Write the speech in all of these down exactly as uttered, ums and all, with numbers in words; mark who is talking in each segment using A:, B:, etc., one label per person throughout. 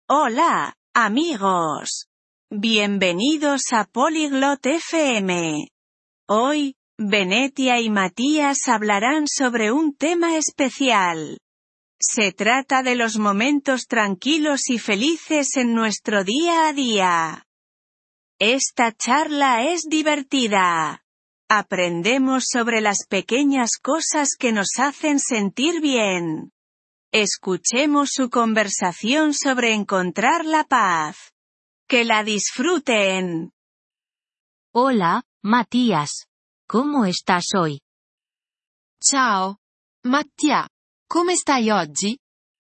A: Hola, amigos. Bienvenidos a Polyglot F M. Hoy, Venetia y Matías hablarán sobre un tema especial. Se trata de los momentos tranquilos y felices en nuestro día a día. Esta charla es divertida. Aprendemos sobre las pequeñas cosas que nos hacen sentir bien. Escuchemos su conversación sobre encontrar la paz. ¡Que la disfruten!
B: Hola, Matías. ¿Cómo estás hoy?
C: Ciao, Mattia. Come stai oggi?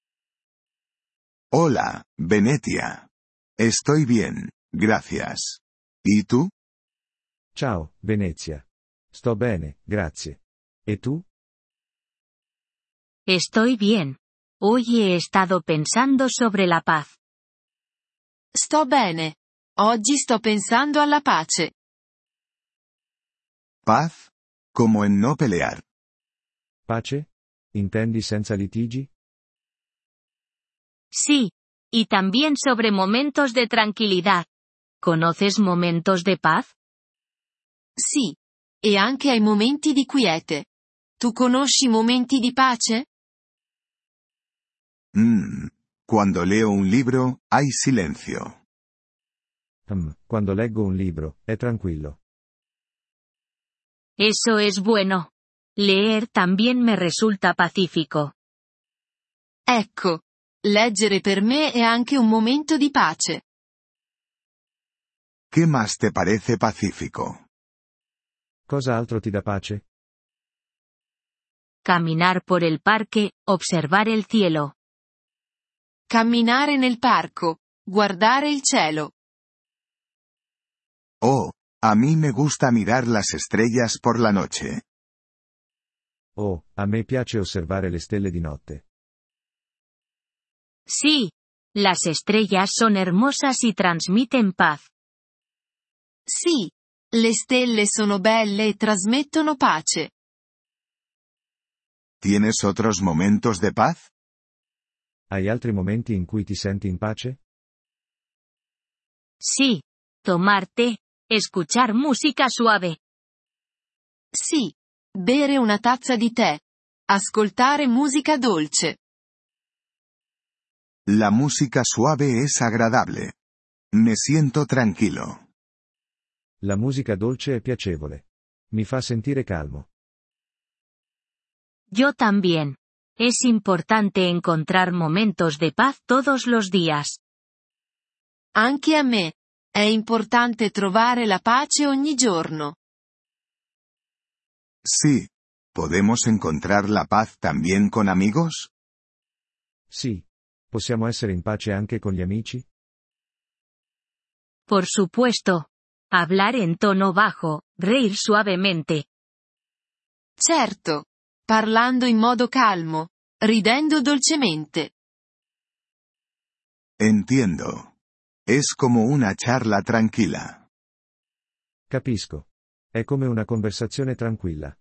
D: Hola, Venetia. Estoy bien, gracias. ¿Y tú?
E: Ciao, Venezia. Sto bene, grazie. ¿E tú?
B: Estoy bien. Hoy he estado pensando sobre la paz.
C: Sto bene. Oggi sto pensando alla pace.
D: Paz? Como en no pelear.
E: Pace? Intendi senza litigi?
B: Sí. Y también sobre momentos de tranquilidad. ¿Conoces momentos de paz?
C: Sì. E anche ai momenti di quiete. Tu conosci momenti di pace?
D: Mmm. Cuando leo un libro, hay silencio.
E: Hmm, quando leggo un libro, è tranquillo.
B: Eso es bueno. Leer también me resulta pacífico.
C: Ecco. Leggere per me è anche un momento di pace.
D: ¿Qué más te parece pacífico?
E: Cosa altro ti dà pace?
B: Caminar por el parque, observar el cielo.
C: Camminare nel parco. Guardare il cielo.
D: Oh, a mí me gusta mirar las estrellas por la noche.
E: Oh, a me piace osservare le stelle di notte.
B: Sí. Las estrellas son hermosas y transmiten paz.
C: Sì. Le stelle sono belle e trasmettono pace.
D: ¿Tienes otros momentos de paz?
E: Hai altri momenti in cui ti senti in pace?
B: Sí. Tomar té, escuchar música suave.
C: Sì. Bere una tazza di tè. Ascoltare musica dolce.
D: La música suave es agradable. Me siento tranquilo.
E: La musica dolce è piacevole. Mi fa sentire calmo.
B: Yo también. Es importante encontrar momentos de paz todos los días.
C: Anche a me. È importante trovare la pace ogni giorno.
D: Sí. ¿Podemos encontrar la paz también con amigos?
E: Sì. Possiamo essere in pace anche con gli amici?
B: Por supuesto. Hablar en tono bajo, reír suavemente.
C: Certo. Parlando in modo calmo. Ridendo dolcemente.
D: Entiendo. Es como una charla tranquila.
E: Capisco. È come una conversazione tranquilla.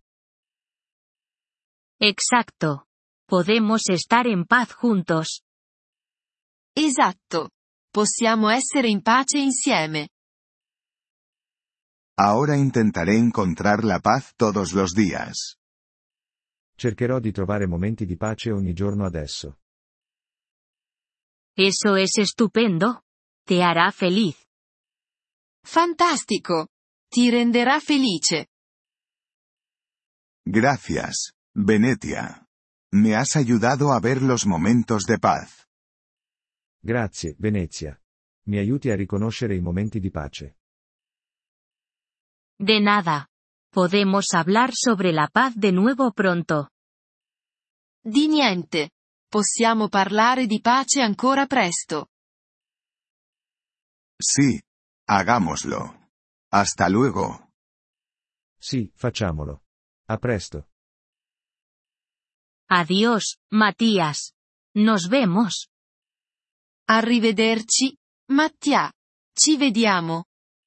B: Exacto. Podemos estar en paz juntos.
C: Esatto. Possiamo essere in pace insieme.
D: Ahora intentaré encontrar la paz todos los días.
E: Cercherò di trovare momenti di pace ogni giorno adesso.
B: Eso es estupendo. Te hará feliz.
C: Fantastico. Ti renderà felice.
D: Gracias, Venetia. Me has ayudado a ver los momentos de paz.
E: Grazie, Venezia. Mi aiuti a riconoscere i momenti di pace.
B: De nada. Podemos hablar sobre la paz de nuevo pronto.
C: Di niente. Possiamo parlare di pace ancora presto.
D: Sí. Hagámoslo. Hasta luego.
E: Sì, facciamolo. A presto.
B: Adiós, Matías. Nos vemos.
C: Arrivederci, Mattia. Ci vediamo.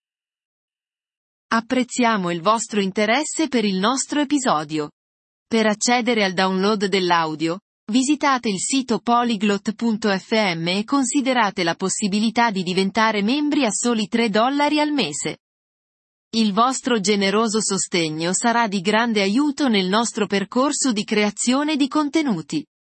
C: Apprezziamo il vostro interesse per il nostro episodio. Per accedere al download dell'audio, Visitate il sito polyglot punto effe emme e considerate la possibilità di diventare membri a soli tre dollari al mese. Il vostro generoso sostegno sarà di grande aiuto nel nostro percorso di creazione di contenuti.